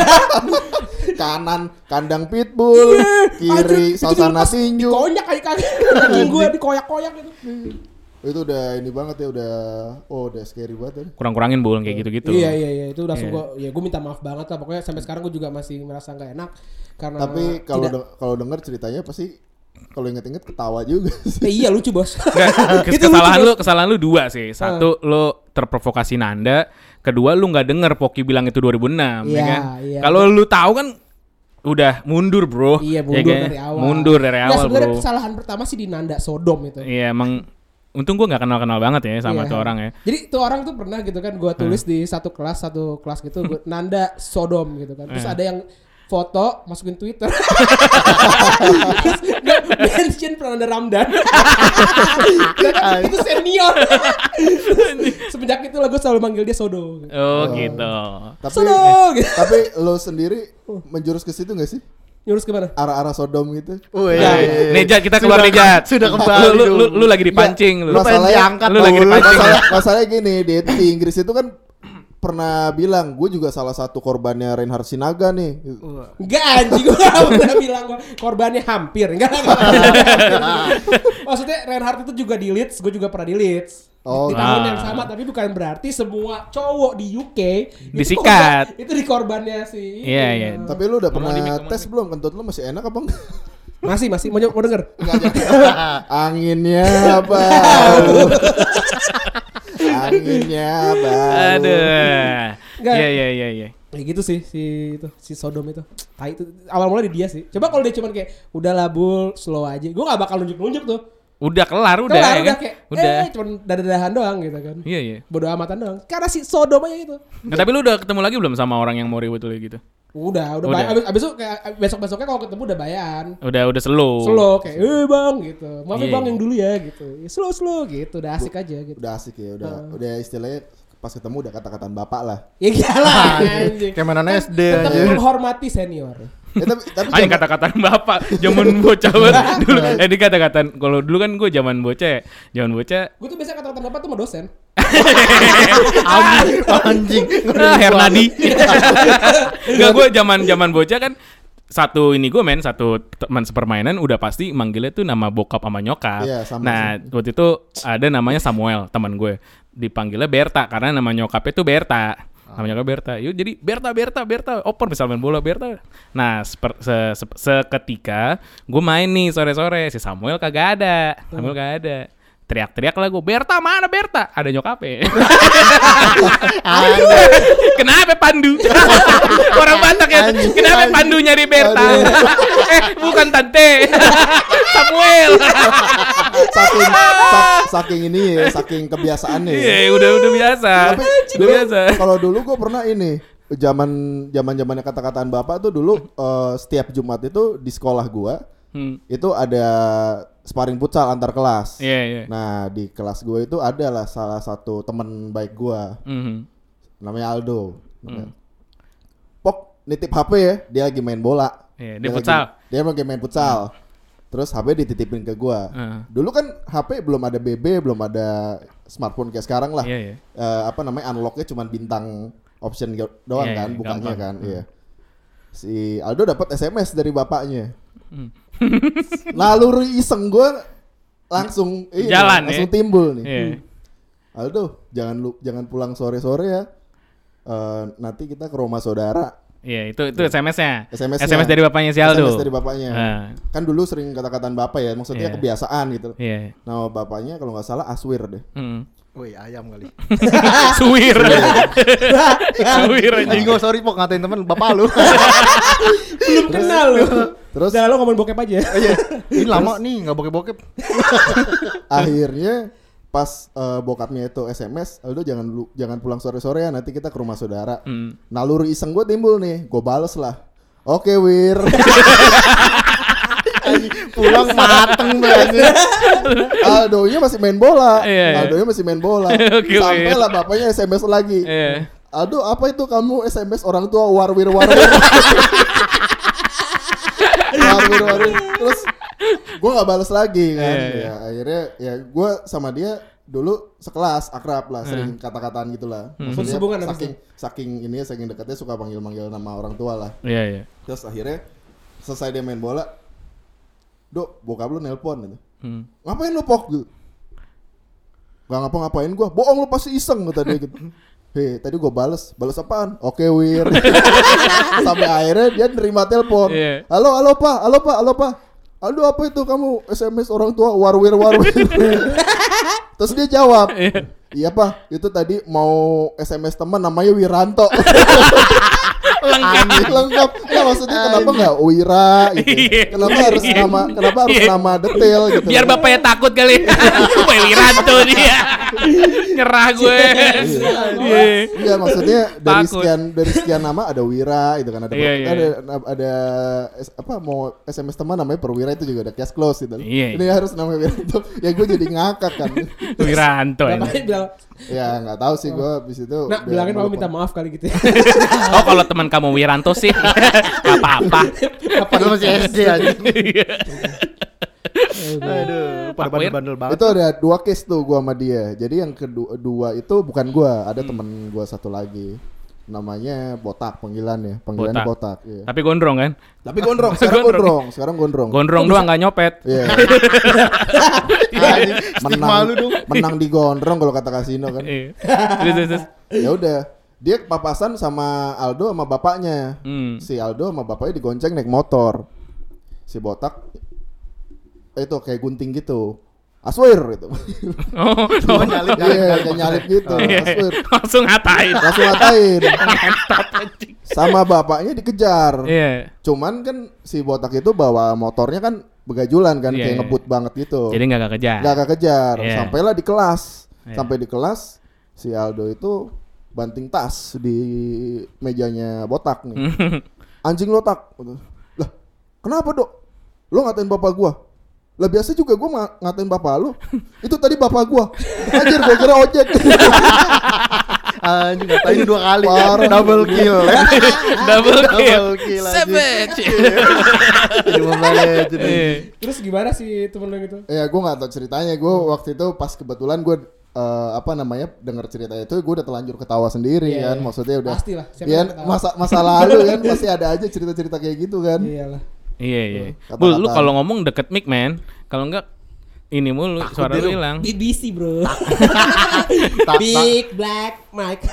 Speaker 1: kanan kandang pitbull, kiri Salsana tinju.
Speaker 3: Dikonyak kaki kaki gue dikoyak-koyak gitu.
Speaker 1: Itu udah ini banget ya udah scary banget ya.
Speaker 2: Kurang-kurangin Bul kayak gitu-gitu.
Speaker 3: Iya itu langsung gue minta maaf banget lah pokoknya sampai sekarang gue juga masih merasa nggak enak karena.
Speaker 1: Tapi kalau dengar ceritanya pasti kalau inget-inget ketawa juga.
Speaker 3: Iya lucu bos.
Speaker 2: Kesalahan lu 2 sih. Satu lu terprovokasi Nanda, kedua lu nggak denger Poki bilang itu 2006 ya kan. Iya. Kalau lu tahu kan udah mundur bro.
Speaker 3: Iya
Speaker 2: mundur dari awal.
Speaker 3: Sebenarnya
Speaker 2: bro.
Speaker 3: kesalahan pertama sih di Nanda Sodom itu.
Speaker 2: Iya emang. Untung gue gak kenal-kenal banget ya sama tuh orang ya.
Speaker 3: Jadi tuh orang tuh pernah gitu kan gue tulis di satu kelas gitu gua, Nanda Sodom gitu kan. Terus ada yang foto masukin Twitter. Terus mention Prananda Ramdan. Itu senior. Semenjak itu lah gue selalu manggil dia Sodo.
Speaker 2: Oh gitu.
Speaker 1: Tapi lo sendiri menjurus ke situ gak sih?
Speaker 3: Nyurus kemana?
Speaker 1: Arah-arah Sodom gitu.
Speaker 2: Nejat kita keluar Nejat.
Speaker 4: Sudah kembali.
Speaker 2: Lu lagi dipancing.
Speaker 1: Lu pengen
Speaker 4: diangkat.
Speaker 2: Lu lagi dipancing.
Speaker 1: Masalahnya gini, di Inggris itu kan pernah bilang gue juga salah satu korbannya Reinhard Sinaga nih.
Speaker 3: Enggak anjing, gue gak pernah bilang korbannya hampir. Enggak. Maksudnya Reinhard itu juga di Leeds, gue juga pernah di Leeds. Di tahun yang sama, tapi bukan berarti semua cowok di UK
Speaker 2: disikat.
Speaker 3: Itu di korbannya sih.
Speaker 2: Iya.
Speaker 1: Tapi lu udah pernah tes belum? Kentut lu masih enak apa enggak?
Speaker 3: Masih mau denger?
Speaker 1: Anginnya bau. Anginnya bau.
Speaker 2: Aduh. Iya.
Speaker 3: Ya gitu sih si Sodom itu. Tai itu awal mulai di dia sih. Coba kalau dia cuman kayak udah labul slow aja. Gue gak bakal nunjuk-nunjuk tuh.
Speaker 2: Udah kelar ya kan?
Speaker 3: Kayak,
Speaker 2: udah.
Speaker 3: Cuman dadahan doang gitu kan.
Speaker 2: Iya.
Speaker 3: Bodo amatan doang. Karena si Sodom aja itu.
Speaker 2: Nah, tapi lu udah ketemu lagi belum sama orang yang mau ribut gitu?
Speaker 3: Udah. Abis itu kayak besok-besoknya kalau ketemu udah bayan.
Speaker 2: Udah slow.
Speaker 3: Slow kayak, bang gitu. Maaf bang yang dulu ya gitu. Slow gitu. Udah asik aja gitu.
Speaker 1: Udah asik ya. Udah istilahnya pas ketemu udah kata-kataan bapak lah.
Speaker 3: Ya iyalah.
Speaker 4: Kayak mana SD
Speaker 3: tetap
Speaker 4: aja.
Speaker 3: menghormati senior.
Speaker 2: Tapi kata-kataan bapak zaman bocah banget dulu. Ini kata-kataan kalau dulu kan gue zaman bocah.
Speaker 3: Gue tuh biasa kata-katan bapak tuh sama dosen.
Speaker 4: Anjing.
Speaker 2: Hernadi. Enggak, gue zaman bocah kan satu teman sepermainan udah pasti manggilnya tuh nama bokap sama nyokap.
Speaker 1: Iya, sama.
Speaker 2: Nah, waktu itu ada namanya Samuel, teman gue. Dipanggilnya Berta karena nama nyokapnya tuh Berta. Namanya Berta. Yuk jadi Berta. Oper bisa main bola Berta. Nah, seketika gue main nih sore-sore, si Samuel kagak ada. Teriak-teriak lah gue, Berta mana Berta? Ada nyokapnya. Kenapa Pandu? Orang Batak ya. Kenapa Pandu nyari Berta? Bukan tante. Samuel.
Speaker 1: Saking ini ya, saking kebiasaannya.
Speaker 2: Iya, udah biasa.
Speaker 1: Tapi kalau dulu gue pernah ini, zamannya kata-kataan bapak tuh dulu setiap Jumat itu di sekolah gue itu ada sparring futsal antar kelas.
Speaker 2: Iya.
Speaker 1: Nah di kelas gue itu adalah salah satu teman baik gue, namanya Aldo. Pok nitip HP ya, dia lagi main bola.
Speaker 2: Iya, dia futsal.
Speaker 1: Dia lagi main futsal. Terus HP dititipin ke gue. Dulu kan HP belum ada BB, belum ada smartphone kayak sekarang lah.
Speaker 2: Iya.
Speaker 1: Unlocknya cuma bintang option doang
Speaker 2: Iya,
Speaker 1: kan, bukanya
Speaker 2: gampang.
Speaker 1: kan. Iya. Si Aldo dapat SMS dari bapaknya. Naluri iseng gue langsung
Speaker 2: Jalan,
Speaker 1: langsung
Speaker 2: ya?
Speaker 1: timbul nih.
Speaker 2: Iya.
Speaker 1: Aldo, jangan pulang sore-sore ya. Nanti kita ke rumah saudara.
Speaker 2: Iya, itu SMS-nya.
Speaker 1: SMS-nya.
Speaker 2: SMS dari bapaknya si Aldo.
Speaker 1: SMS dari bapaknya. Kan dulu sering kata-kataan bapak ya, maksudnya
Speaker 2: Iya.
Speaker 1: kebiasaan gitu.
Speaker 2: Iya.
Speaker 1: Nama bapaknya kalau nggak salah Aswir deh.
Speaker 4: Woi, ayam kali.
Speaker 2: Suwir. Suwir aja.
Speaker 4: Anjing, sorry Pok, ngatain temen bapak lu.
Speaker 3: Belum kenal lu.
Speaker 1: Terus
Speaker 3: Udah lo ngomongin bokep aja.
Speaker 4: Iya. Ini lama nih enggak bokep-bokep.
Speaker 1: akhirnya pas bokapnya itu SMS, Aldo jangan pulang sore-sore ya, nanti kita ke rumah saudara. Naluri iseng gue timbul nih, gue bales lah. Oke Wir.
Speaker 4: Pulang mateng banget.
Speaker 1: Aldonya masih main bola.
Speaker 2: Iya.
Speaker 1: Aldonya masih main bola.
Speaker 2: Oke,
Speaker 1: Sampai
Speaker 2: Wir.
Speaker 1: lah bapaknya SMS lagi.
Speaker 2: Iya.
Speaker 1: Aldo, apa itu kamu SMS orang tua warwir. Warwir. Terus gue nggak balas lagi kan.
Speaker 2: Iya.
Speaker 1: Ya akhirnya ya gue sama dia dulu sekelas akrab lah, sering kata-kataan gitulah. Maksudnya
Speaker 3: Hubungan habis
Speaker 1: saking dekatnya suka panggil-manggil nama orang tua lah.
Speaker 2: Iya.
Speaker 1: Terus akhirnya selesai dia main bola, Dok, bokap lu nelpon gitu. Ngapain lu Pok gitu? Gak ngapa-ngapain gua. Bohong lu pasti iseng kata dia gitu. Hei, tadi gua bales apaan? Oke Wir. Sampai akhirnya dia nerima telepon.
Speaker 2: Iya.
Speaker 1: Halo Pak. Aduh apa itu kamu SMS orang tua warwir. Terus dia jawab, iya Pak, itu tadi mau SMS teman namanya Wiranto. Lengkap. Ya maksudnya kenapa nggak Wira gitu? Kenapa harus nama detail gitu?
Speaker 2: Biar bapaknya takut kali. Gue Wiranto dia. Nyerah gue.
Speaker 1: Iya maksudnya dari
Speaker 2: Takut.
Speaker 1: sekian nama ada Wira gitu kan,
Speaker 2: Iya.
Speaker 1: ada mau SMS teman namanya Perwira, itu juga ada cash close gitu.
Speaker 2: Iya.
Speaker 1: Ini harus namanya Wiranto. Ya gue jadi ngakak kan.
Speaker 2: Wiranto ini.
Speaker 3: Bapaknya bilang,
Speaker 1: Ya nggak tahu sih gue abis itu.
Speaker 3: nah bilangin papa minta maaf kali gitu ya.
Speaker 2: Oh kalau teman kamu Wiranto sih gak apa-apa.
Speaker 4: Padahal masih SD aja.
Speaker 2: Iya.
Speaker 4: Aduh, pada
Speaker 2: Pak Wir.
Speaker 4: bandel banget.
Speaker 1: Itu ada 2 case tuh gua sama dia. Jadi yang kedua itu bukan gua, ada temen gua satu lagi. Namanya Botak panggilannya Botak. Iya.
Speaker 2: Tapi gondrong kan?
Speaker 1: Tapi gondrong, sekarang gondrong.
Speaker 2: Gondrong doang gak nyopet.
Speaker 1: Iya.
Speaker 4: Stigma lu dong.
Speaker 1: menang di gondrong kalau kata kasino kan.
Speaker 2: Iya. Terus.
Speaker 1: Ya udah, dia papasan sama Aldo sama bapaknya. Si Aldo sama bapaknya digonceng naik motor. Si Botak itu kayak gunting gitu. Aswir gitu.
Speaker 2: Oh,
Speaker 4: Nyalip.
Speaker 1: Iya, kayak nyalip gitu.
Speaker 2: Iya.
Speaker 1: Aswir.
Speaker 2: Langsung ngatain.
Speaker 1: Langsung ngatain. Sama bapaknya dikejar.
Speaker 2: Iya.
Speaker 1: Cuman kan si Botak itu bawa motornya kan begajulan kan,
Speaker 2: Iya,
Speaker 1: kayak
Speaker 2: iya.
Speaker 1: ngebut banget gitu.
Speaker 2: Jadi gak kejar.
Speaker 1: Gak kejar.
Speaker 2: Iya.
Speaker 1: Sampailah di kelas.
Speaker 2: Iya.
Speaker 1: Sampai di kelas si Aldo itu banting tas di mejanya Botak nih. Anjing lo Tak. Lah, kenapa Dok? Lo ngatain bapak gua? Lah biasa juga gua ngatain bapak lu. Itu tadi bapak gua. Anjir, gua kira ojek.
Speaker 4: Anjing ngatain 2 kali.
Speaker 1: Parah.
Speaker 4: Double kill.
Speaker 2: Double kill.
Speaker 4: kill.
Speaker 2: Savage.
Speaker 4: Jadi membalik.
Speaker 2: Iya.
Speaker 3: Terus gimana sih temen lo gitu?
Speaker 1: Ya gue nggak tahu ceritanya. Gue waktu itu pas kebetulan gue dengar cerita itu, gue udah terlanjur ketawa sendiri
Speaker 3: Iya,
Speaker 1: kan.
Speaker 3: iya.
Speaker 1: Maksudnya udah.
Speaker 3: Pastilah, siapa
Speaker 1: Ya,
Speaker 3: yang ketawa?
Speaker 1: masa lalu kan pasti ada aja cerita-cerita kayak gitu kan.
Speaker 3: Iyalah.
Speaker 2: Iya.
Speaker 1: Kata-kata.
Speaker 2: Bul, lu kalau ngomong deket mic man. Kalau enggak ini mulu suara lu hilang.
Speaker 3: BBC bro. Big black mic.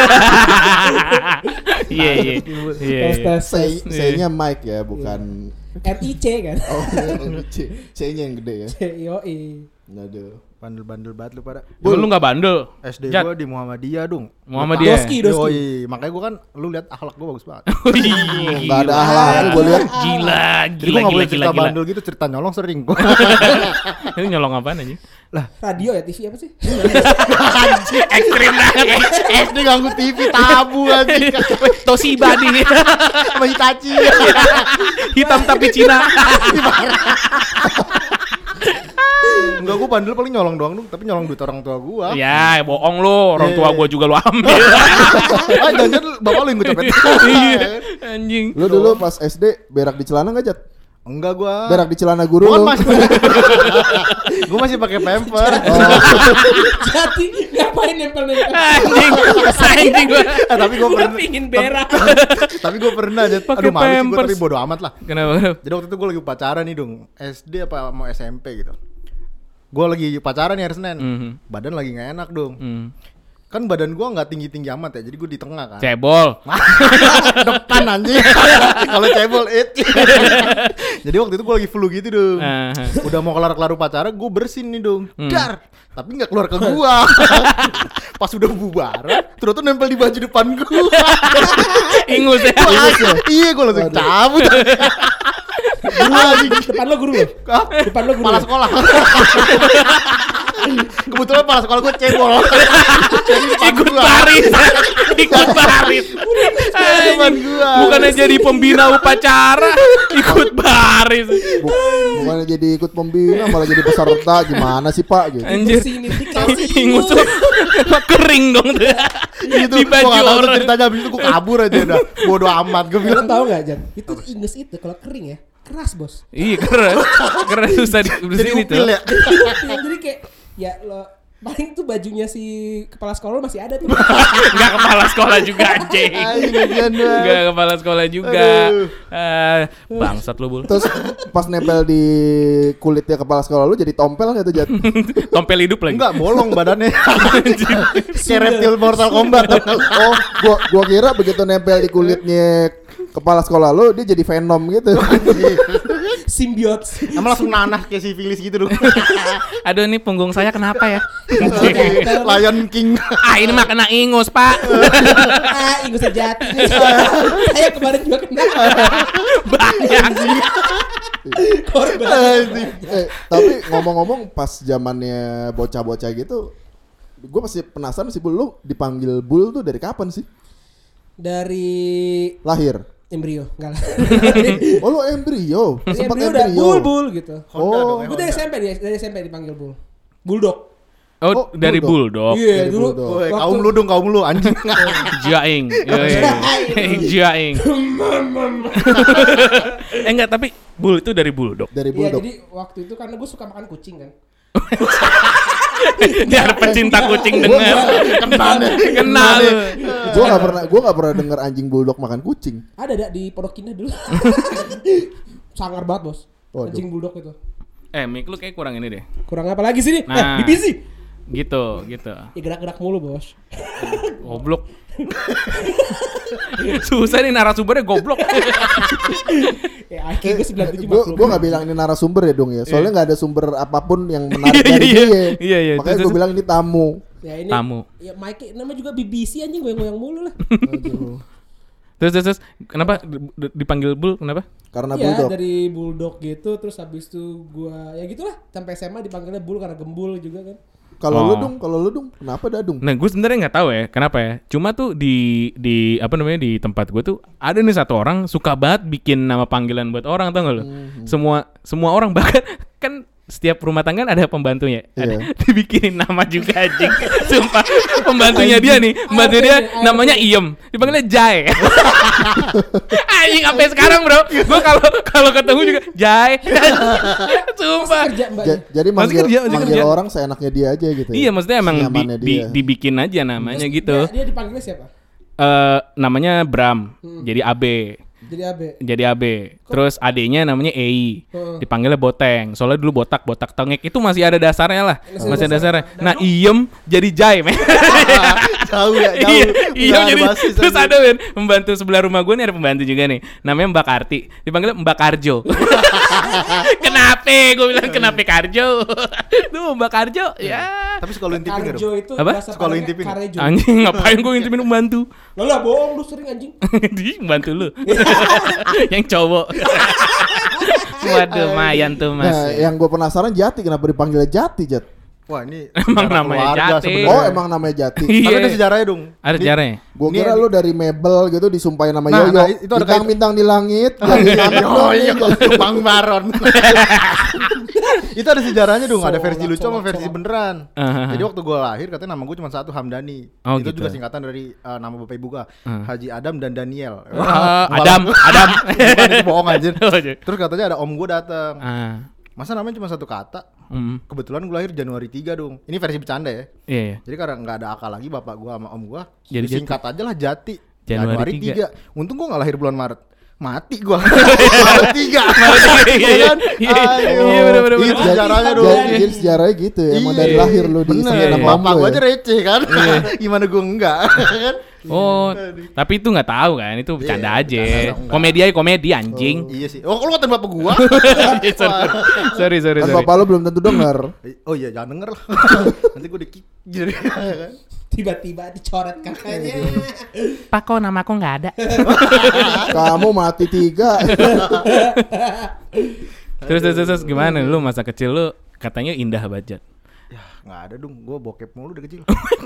Speaker 2: Iya.
Speaker 3: Tes.
Speaker 1: C-nya Mike ya, bukan
Speaker 3: RIC kan.
Speaker 1: oh C-nya yang gede ya.
Speaker 3: Yoi.
Speaker 1: Aduh.
Speaker 4: Bandel-bandel banget lu pada.
Speaker 2: Lu enggak bandel.
Speaker 4: SD
Speaker 2: Jat.
Speaker 4: gua di Muhammadiyah dong.
Speaker 2: Muhammadiyah.
Speaker 3: Doski.
Speaker 4: Yoi, makanya gua kan lu lihat akhlak gua bagus banget.
Speaker 1: Enggak ada akhlak gue lihat.
Speaker 2: Gila,
Speaker 4: Jadi gua enggak boleh cerita bandel gitu, cerita nyolong sering gua.
Speaker 2: Ini nyolong apaan aja?
Speaker 3: Radio ya TV apa sih?
Speaker 2: Ekstrim banget.
Speaker 4: SD ganggu TV tabu anjing.
Speaker 2: Toshiba di
Speaker 4: Sama Hitachi.
Speaker 2: hitam tapi Cina.
Speaker 4: Enggak, gua bandel paling nyolong doang dong, tapi nyolong duit orang tua gua.
Speaker 2: Ya, bohong lu. Orang tua gua juga lu ambil.
Speaker 4: Jangan bapak lu yang gua copet.
Speaker 2: Iya, anjing.
Speaker 1: Lu dulu pas SD berak di celana enggak, Jat?
Speaker 4: Enggak gua.
Speaker 1: Berak di celana guru
Speaker 4: Gua
Speaker 1: lu.
Speaker 4: masih gua masih pakai pamper.
Speaker 3: Jadi ngapain nempel-nempel?
Speaker 2: Anjing gua.
Speaker 4: Tapi gua pernah.
Speaker 3: Pingin berak.
Speaker 4: Tapi gua pernah aja.
Speaker 2: Pakai
Speaker 4: Aduh malu sih gua,
Speaker 2: Pampers.
Speaker 4: tapi bodo amat lah.
Speaker 2: Kenapa?
Speaker 4: Jadi waktu itu gue lagi pacaran nih dong, SD apa mau SMP gitu. Gue lagi pacaran nih hari Senin, badan lagi nggak enak dong. Kan badan gue nggak tinggi amat ya, jadi gue di tengah kan.
Speaker 2: Cebol.
Speaker 4: Depan anjing. Kalau cebol Jadi waktu itu gue lagi flu gitu dong. Udah mau kelar pacaran, gue bersin nih dong. Dar. Tapi nggak keluar ke gua. Pas udah bubaran, terus tuh nempel di baju depan gua.
Speaker 2: Ingus ya.
Speaker 4: Iya, gue langsung cabut.
Speaker 3: Depan lo guru lo. Depan lo guru.
Speaker 4: Kepala sekolah. Kebetulan kepala sekolah gue cebol. Jadi depan
Speaker 2: Ikut
Speaker 4: gua.
Speaker 2: baris. Ikut baris.
Speaker 4: Depan gua.
Speaker 2: Bukannya jadi pembina upacara, ikut baris.
Speaker 1: Bukannya jadi ikut pembina malah jadi peserta, gimana sih Pak gitu.
Speaker 2: Anjir.
Speaker 3: Sini dikasih.
Speaker 2: Ingus tuh kering dong tuh.
Speaker 4: Gitu,
Speaker 2: Di
Speaker 4: gua
Speaker 2: baju
Speaker 4: gak tau tuh
Speaker 2: orang.
Speaker 4: ceritanya, abis itu gue kabur aja udah. Bodo amat, gue
Speaker 3: Lo
Speaker 4: bilang.
Speaker 3: tau gak Jan? Itu ingus itu kalau kering ya keras bos.
Speaker 2: Iya keras susah
Speaker 4: Jadi
Speaker 2: dibersihin itu.
Speaker 4: upil ya.
Speaker 3: Jadi kayak ya lo paling tuh bajunya si kepala sekolah lo masih ada tuh.
Speaker 2: Enggak kepala sekolah juga anjing.
Speaker 4: Ayo gajian doang.
Speaker 2: Enggak kepala sekolah juga.
Speaker 4: Aduh.
Speaker 2: Bangsat lu bul.
Speaker 1: Terus pas nempel di kulitnya kepala sekolah lu jadi tompel nggak tuh, Jat?
Speaker 2: Tompel hidup lagi.
Speaker 4: Enggak, bolong badannya. Kayak reptil Mortal Kombat.
Speaker 1: Oh, gua kira begitu nempel di kulitnya kepala sekolah lu dia jadi Venom gitu.
Speaker 3: Simbiote.
Speaker 4: Emang langsung nanah kayak sifilis gitu dong.
Speaker 2: Aduh ini punggung saya kenapa ya?
Speaker 4: Lion King.
Speaker 2: Ah ini mah kena ingus pak.
Speaker 3: Ingus sejati. Saya kemarin juga kena.
Speaker 2: Banyak.
Speaker 3: Korban.
Speaker 1: Tapi ngomong-ngomong pas zamannya bocah-bocah gitu, gue masih penasaran sih, Bul, lu dipanggil Bul tuh dari kapan sih?
Speaker 3: Dari
Speaker 1: Lahir.
Speaker 3: embrio, enggak lah.
Speaker 1: Oh, lu embrio.
Speaker 3: Dari
Speaker 1: Sempat
Speaker 3: embrio udah
Speaker 1: embrio.
Speaker 3: bul gitu.
Speaker 1: Oh,
Speaker 3: Gue dari SMP dipanggil bul. Bulldog.
Speaker 2: Oh dari
Speaker 1: Bulldog.
Speaker 2: bulldog.
Speaker 3: Iya,
Speaker 1: Dari
Speaker 3: dulu.
Speaker 1: Bulldog.
Speaker 4: Woi, kaum lu anjing.
Speaker 2: Jaing. Jaing. Enggak tapi bull itu dari bulldog.
Speaker 1: Dari
Speaker 3: Iya,
Speaker 1: Bulldog.
Speaker 3: jadi waktu itu karena gue suka makan kucing kan.
Speaker 2: Biar pecinta kucing denger. Kenal.
Speaker 1: Gua nggak pernah denger anjing Bulldog makan kucing.
Speaker 3: Ada di Pondok Indah dulu. Sangar banget bos.
Speaker 1: Waduh.
Speaker 3: Anjing bulldog itu.
Speaker 2: Mik lu kayak kurang ini deh.
Speaker 3: Kurang apa lagi sih nih?
Speaker 2: Nah.
Speaker 3: BBC.
Speaker 2: Gitu.
Speaker 3: Ya gerak-gerak mulu bos.
Speaker 2: Goblok. Susah nih narasumbernya goblok.
Speaker 3: Ya IQ gue 97
Speaker 1: Gue nggak bilang ini narasumber ya dong ya. Soalnya nggak ada sumber apapun yang menarik dari
Speaker 2: Iya,
Speaker 1: dia.
Speaker 2: iya.
Speaker 1: Makanya gue bilang ini tamu.
Speaker 3: Ya ini
Speaker 2: Tamu.
Speaker 3: Ya Mike namanya juga BBC anjing goyang-goyang mulu lah.
Speaker 1: Aduh.
Speaker 2: Terus kenapa dipanggil bull kenapa?
Speaker 1: Karena
Speaker 3: Ya
Speaker 1: Bulldog.
Speaker 3: dari bulldog gitu terus habis itu gua ya gitulah sampai SMA dipanggilnya bull karena gembul juga kan.
Speaker 1: Kalau
Speaker 2: Oh.
Speaker 1: lu dong, kenapa dadung?
Speaker 2: Nah, gue sebenarnya nggak tahu ya kenapa ya. Cuma tuh di apa namanya di tempat gue tuh ada nih satu orang suka banget bikin nama panggilan buat orang, tau gak lo? Semua orang bahkan kan setiap rumah tangga ada pembantunya.
Speaker 1: Iya.
Speaker 2: Ada dibikinin nama juga anjing. Sumpah pembantunya dia nih, pembantu dia namanya Iem. Dipanggilnya Jai. Anjing sampai sekarang, Bro. Gue kalau ketemu juga Jai. Sumpah.
Speaker 3: Kerja mbak.
Speaker 1: Jadi
Speaker 2: Masih
Speaker 1: manggil
Speaker 2: kerja.
Speaker 1: orang seenaknya dia aja gitu.
Speaker 2: Iya, maksudnya emang
Speaker 1: Senyamannya dia.
Speaker 2: dibikin aja namanya gitu.
Speaker 3: Dia dipanggilnya siapa?
Speaker 2: Namanya Bram, jadi AB.
Speaker 3: Jadi AB.
Speaker 2: Terus adenya namanya Ei.
Speaker 3: Heeh.
Speaker 2: Dipanggilnya Boteng. Soalnya dulu botak tengek itu masih ada dasarnya lah.
Speaker 3: Masih
Speaker 2: Masih ada
Speaker 3: dasarnya.
Speaker 2: dasarnya. Nah, Iem jadi Jai, men.
Speaker 4: Jauh ya, jauh.
Speaker 2: Iya,
Speaker 4: Nggak ada
Speaker 2: jadi
Speaker 4: basis
Speaker 2: terus
Speaker 4: aja.
Speaker 2: ada men pembantu sebelah rumah gue nih, ada pembantu juga nih, namanya Mbak Karti, dipanggilnya Mbak Karjo. Kenapa? Gue bilang kenapa Karjo? Tuh Mbak Karjo, ya.
Speaker 4: Tapi suka lu intipin nggak
Speaker 3: Karjo
Speaker 4: dong?
Speaker 3: itu
Speaker 2: Apa?
Speaker 3: bahasa
Speaker 4: Suka lu
Speaker 3: Padangnya
Speaker 4: intipin?
Speaker 3: Karejo.
Speaker 2: Anjing, ngapain gue ngintipin pembantu?
Speaker 3: Lah bohong lu sering anjing.
Speaker 2: Di pembantu lu. Yang cowok. Waduh, lumayan tuh Mas.
Speaker 1: Nah, yang gue penasaran Jati kenapa dipanggilnya Jati, Jat?
Speaker 4: Wah, ini
Speaker 2: Emang
Speaker 4: sejarah
Speaker 2: namanya
Speaker 4: keluarga
Speaker 2: Jati.
Speaker 4: sebenarnya.
Speaker 1: Oh, emang namanya Jati.
Speaker 2: Iya.
Speaker 4: Tapi ada sejarahnya dong.
Speaker 2: Ada
Speaker 4: Ini-
Speaker 2: sejarahnya.
Speaker 1: Gue
Speaker 4: Ini
Speaker 1: kira
Speaker 4: yang-
Speaker 1: lu dari Mebel gitu disumpahin nama
Speaker 4: Nah,
Speaker 1: Yoyo.
Speaker 4: nah, itu ada
Speaker 1: Bintang-bintang di langit. Jadi anak dong nih.
Speaker 4: Yoyo, Bang Baron. Itu ada sejarahnya dong, ada versi
Speaker 3: Solak,
Speaker 4: lucu sama
Speaker 3: solak,
Speaker 4: versi
Speaker 3: solak.
Speaker 4: beneran.
Speaker 2: Aha.
Speaker 4: Jadi waktu gue lahir katanya nama gue cuma satu, Hamdani.
Speaker 2: Oh,
Speaker 4: Itu
Speaker 2: gitu.
Speaker 4: juga singkatan dari nama bapak ibu gue, Haji Adam dan Daniel.
Speaker 2: Adam.
Speaker 4: Bukan, itu bohong aja.
Speaker 2: Oh, iya.
Speaker 4: Terus katanya ada om gue datang.
Speaker 2: Ah.
Speaker 4: Masa namanya cuma satu kata?
Speaker 2: Kebetulan
Speaker 4: Kebetulan gue lahir Januari 3 dong. Ini versi bercanda ya.
Speaker 2: Iya, iya.
Speaker 4: Jadi karena nggak ada akal lagi bapak gua sama om gua,
Speaker 2: Jadi
Speaker 4: disingkat aja lah Jati.
Speaker 2: Januari 3.
Speaker 4: Untung gua nggak lahir bulan Maret. Mati gua. Maret 3.
Speaker 2: Iya,
Speaker 4: kan?
Speaker 2: iya.
Speaker 4: Ayo.
Speaker 2: Iya, bener-bener.
Speaker 4: Itu sejarahnya dong.
Speaker 1: Jadi sejarahnya gitu ya. Emang
Speaker 4: Iya.
Speaker 1: dari lahir lu
Speaker 4: Bener.
Speaker 1: disingkat nama om
Speaker 4: Bapak
Speaker 1: lu
Speaker 4: gua
Speaker 1: ya.
Speaker 4: aja receh kan. Gimana gua enggak kan?
Speaker 2: Oh, tapi itu nggak tahu kan, itu bercanda
Speaker 4: Iya,
Speaker 2: aja.
Speaker 4: bercanda dong,
Speaker 2: Komedi anjing.
Speaker 4: Iya sih. Oh, lu ngatain bapak gua.
Speaker 2: sorry.
Speaker 1: Kan bapak lu belum tentu denger.
Speaker 4: Oh iya, jangan denger lah. Nanti gua di-kick jadi kan.
Speaker 3: Tiba-tiba dicoret kakaknya.
Speaker 2: Pak, kok nama aku nggak ada?
Speaker 1: Kamu mati 3.
Speaker 2: Terus gimana lu masa kecil lu katanya indah banget.
Speaker 4: Ya, enggak ada dong. Gua bokep mulu dari kecil.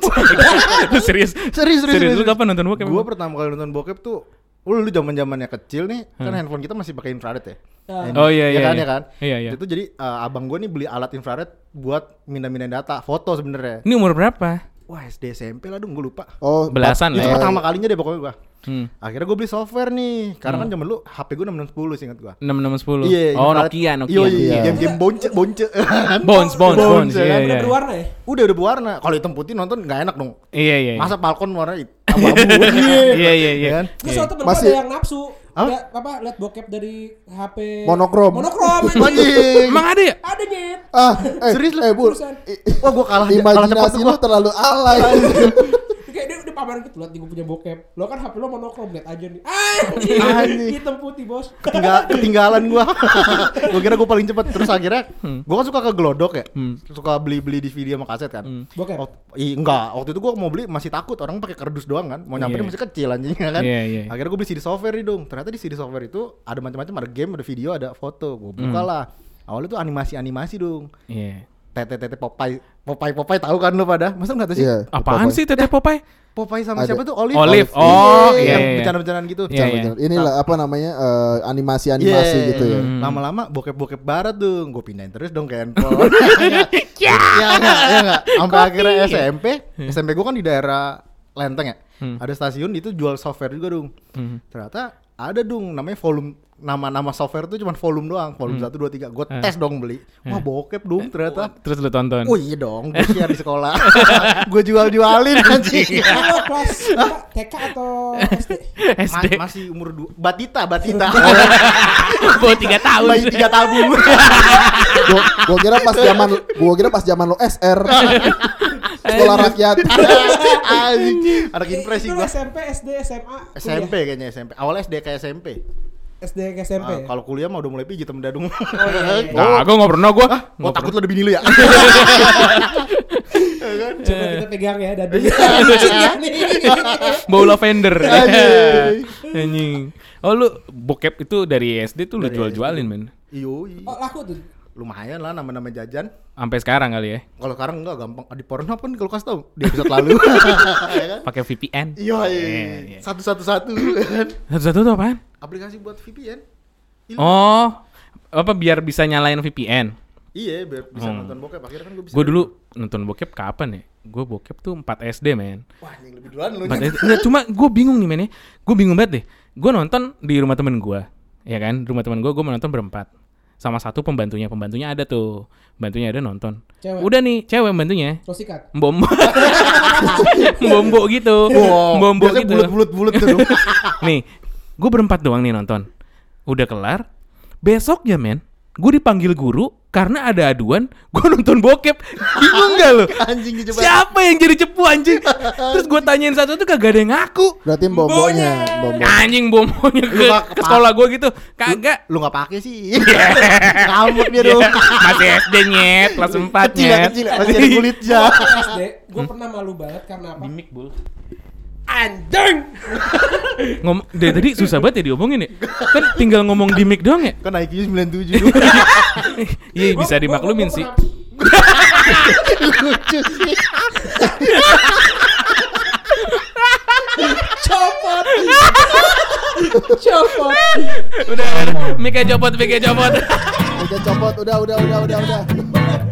Speaker 2: Lu serius?
Speaker 4: Serius.
Speaker 2: Lu kapan nonton bokep?
Speaker 4: Gue pertama kali nonton bokep tuh, lu zaman-zamannya kecil nih, kan handphone kita masih pakai infrared ya.
Speaker 2: Oh iya iya.
Speaker 4: kan,
Speaker 2: iya.
Speaker 4: ya kan.
Speaker 2: Iya iya.
Speaker 4: Itu jadi abang gue nih beli alat infrared buat mindahin data, foto sebenarnya.
Speaker 2: Ini umur berapa?
Speaker 4: Wah, SD SMP lah dong, gue lupa.
Speaker 1: Oh,
Speaker 2: Belasan
Speaker 4: Itu
Speaker 2: lah ya.
Speaker 4: pertama kalinya deh pokoknya gue.
Speaker 2: Hmm.
Speaker 4: Akhirnya gue beli software nih, karena kan zaman lu HP gue 6610 seingat gue.
Speaker 2: 6610.
Speaker 4: Iya,
Speaker 2: Oh,
Speaker 4: infrared.
Speaker 2: Nokia.
Speaker 4: Iya, game-game bonce.
Speaker 2: Bones.
Speaker 4: Bones,
Speaker 2: Iya
Speaker 4: kan?
Speaker 2: iya.
Speaker 3: Udah berwarna ya?
Speaker 4: Udah berwarna. Kalau hitam putih nonton nggak enak dong.
Speaker 2: Iya.
Speaker 4: Masa Falcon warna abu-abu.
Speaker 2: Iya.
Speaker 4: kan?
Speaker 3: Terus waktu temen
Speaker 1: Masih-
Speaker 3: ada yang nafsu.
Speaker 4: Apa?
Speaker 3: Lihat bokep dari HP
Speaker 1: Monokrom.
Speaker 3: anjing.
Speaker 4: Anjing.
Speaker 2: Emang ada ya?
Speaker 3: Ada nyet.
Speaker 1: Serius lu? Bu.
Speaker 3: Terusan.
Speaker 4: Wah, gue kalah cepet
Speaker 1: Imajinasi
Speaker 4: tuh
Speaker 1: lu
Speaker 4: gua.
Speaker 1: terlalu alay.
Speaker 3: Kayak dia pamerin gitu, lihat gue punya bokep. Lo kan HP lo monokrom, lihat aja nih.
Speaker 4: Anjing.
Speaker 3: Anjing. Hitam putih, Bos.
Speaker 4: Ketinggalan gua. Gua kira gua paling cepet. Terus akhirnya gua kan suka ke Glodok ya. Suka beli DVD sama kaset kan.
Speaker 3: Bokep.
Speaker 4: Enggak, waktu itu gua mau beli masih takut, orang pakai kardus doang kan. Mau nyamperin
Speaker 2: Iya.
Speaker 4: masih kecil anjing kan.
Speaker 2: Iya.
Speaker 4: Akhirnya gua beli CD software nih dong. Ternyata di CD software itu ada macam-macam, ada game, ada video, ada foto. Gua buka lah. Awalnya tuh animasi dong.
Speaker 2: Iya.
Speaker 4: Tete Popeye tahu kan lu pada? Masa enggak tahu sih?
Speaker 1: Iya.
Speaker 2: Apaan sih Teteh Popeye?
Speaker 4: Popeye sama
Speaker 1: Ada.
Speaker 4: siapa tuh? Olive.
Speaker 2: Olive. Oh,
Speaker 4: Iya,
Speaker 2: iya,
Speaker 4: yang
Speaker 2: iya.
Speaker 4: bercanda-bercandaan gitu.
Speaker 2: Iya, iya.
Speaker 1: Inilah apa namanya animasi
Speaker 4: Iya.
Speaker 1: gitu ya.
Speaker 4: Lama-lama bokep-bokep barat dong. Gue pindahin terus dong ke handphone. Ya enggak. Sampai akhirnya SMP gue kan di daerah Lenteng ya. Ada stasiun itu jual software juga dong. Ternyata ada dong namanya volume, nama software itu cuma volume doang, volume 1 2 3. Gue tes dong beli. Wah, bokep dong ternyata.
Speaker 2: Terus lu tonton.
Speaker 4: Oh iya dong, gue share di sekolah. Gue jualin anjing.
Speaker 3: Lo kelas apa, TK atau SD?
Speaker 2: SD.
Speaker 4: Masih umur Batita.
Speaker 2: Bawa 3 tahun.
Speaker 4: Bayi 3 tabung.
Speaker 1: Gua kira pas zaman lo SR. Sekolah rakyat.
Speaker 4: Anjing. Anak impres sih
Speaker 3: Itu
Speaker 4: gua.
Speaker 3: SMP, SD, SMA.
Speaker 4: SMP kayaknya SMP. Awalnya SD kayak SMP.
Speaker 3: SD ke SMP.
Speaker 4: Kalau kuliah mah udah mulai pijit sama dadung.
Speaker 2: Nah, gua enggak pernah gua.
Speaker 4: Gua takut lu ada bini lu ya.
Speaker 3: Coba kita pegang ya dan lucu ya nih.
Speaker 2: Bau lavender.
Speaker 4: Anjing.
Speaker 2: Anjing. Oh, lu bokep itu dari SD tuh lu
Speaker 4: Dari
Speaker 2: jual-jualin, men.
Speaker 4: Yoi.
Speaker 3: Oh, laku tuh.
Speaker 4: Lumayan lah nama-nama jajan.
Speaker 2: Sampai sekarang kali ya.
Speaker 4: Kalau sekarang enggak gampang. Di Pornhub kan kalau kasih tau di episode lalu. Ya kan?
Speaker 2: Pakai VPN.
Speaker 4: Iya.
Speaker 2: Iya.
Speaker 4: 111 kan.
Speaker 2: Satu-satu tuh apaan?
Speaker 4: Aplikasi buat VPN.
Speaker 2: Oh, apa biar bisa nyalain VPN?
Speaker 4: Iya, biar bisa nonton bokep. Akhirnya kan gue bisa.
Speaker 2: Gue dulu nonton bokep kapan ya? Gue bokep tuh 4 SD, men.
Speaker 4: Wah, yang lebih duluan lu.
Speaker 2: 4 SD. Enggak, cuma gue bingung nih, men ya. Gue bingung banget deh. Gue nonton di rumah temen gue. Ya kan? Rumah temen gue mau nonton berempat. Sama satu pembantunya ada tuh. Pembantunya ada nonton.
Speaker 3: Cewek.
Speaker 2: Udah nih, cewek pembantunya.
Speaker 3: Lo sikat.
Speaker 2: Mbombo. Mbombo gitu. Mbombo
Speaker 4: Biasanya
Speaker 2: gitu.
Speaker 4: bulat-bulat tuh.
Speaker 2: Nih, gue berempat doang nih nonton. Udah kelar. Besoknya, men. gue dipanggil guru karena ada aduan gue nonton bokep. Bingung gak lo?
Speaker 4: Anjing coba.
Speaker 2: Siapa yang jadi cepu anjing? Terus gue tanyain satu-satu kagak ada yang ngaku.
Speaker 1: Berarti bombonya.
Speaker 2: Anjing bomonya ke sekolah gue gitu. Kagak.
Speaker 4: Lu enggak pakai sih. Ngamuk dia dong.
Speaker 2: Masih SD nyet, kelas 4 nyet.
Speaker 4: Kecil, masih ada kulitnya.
Speaker 3: SD, gue pernah malu banget karena apa?
Speaker 2: Mimik bul.
Speaker 3: Anjing.
Speaker 2: Dari tadi susah banget ya diomongin ya. Kan tinggal ngomong di mic doang ya.
Speaker 4: Kan IQ 97 dulu.
Speaker 2: Iya bisa dimaklumin sih.
Speaker 4: Lucu sih.
Speaker 3: Copot.
Speaker 2: Udah, mic-nya copot.
Speaker 1: Udah copot, udah.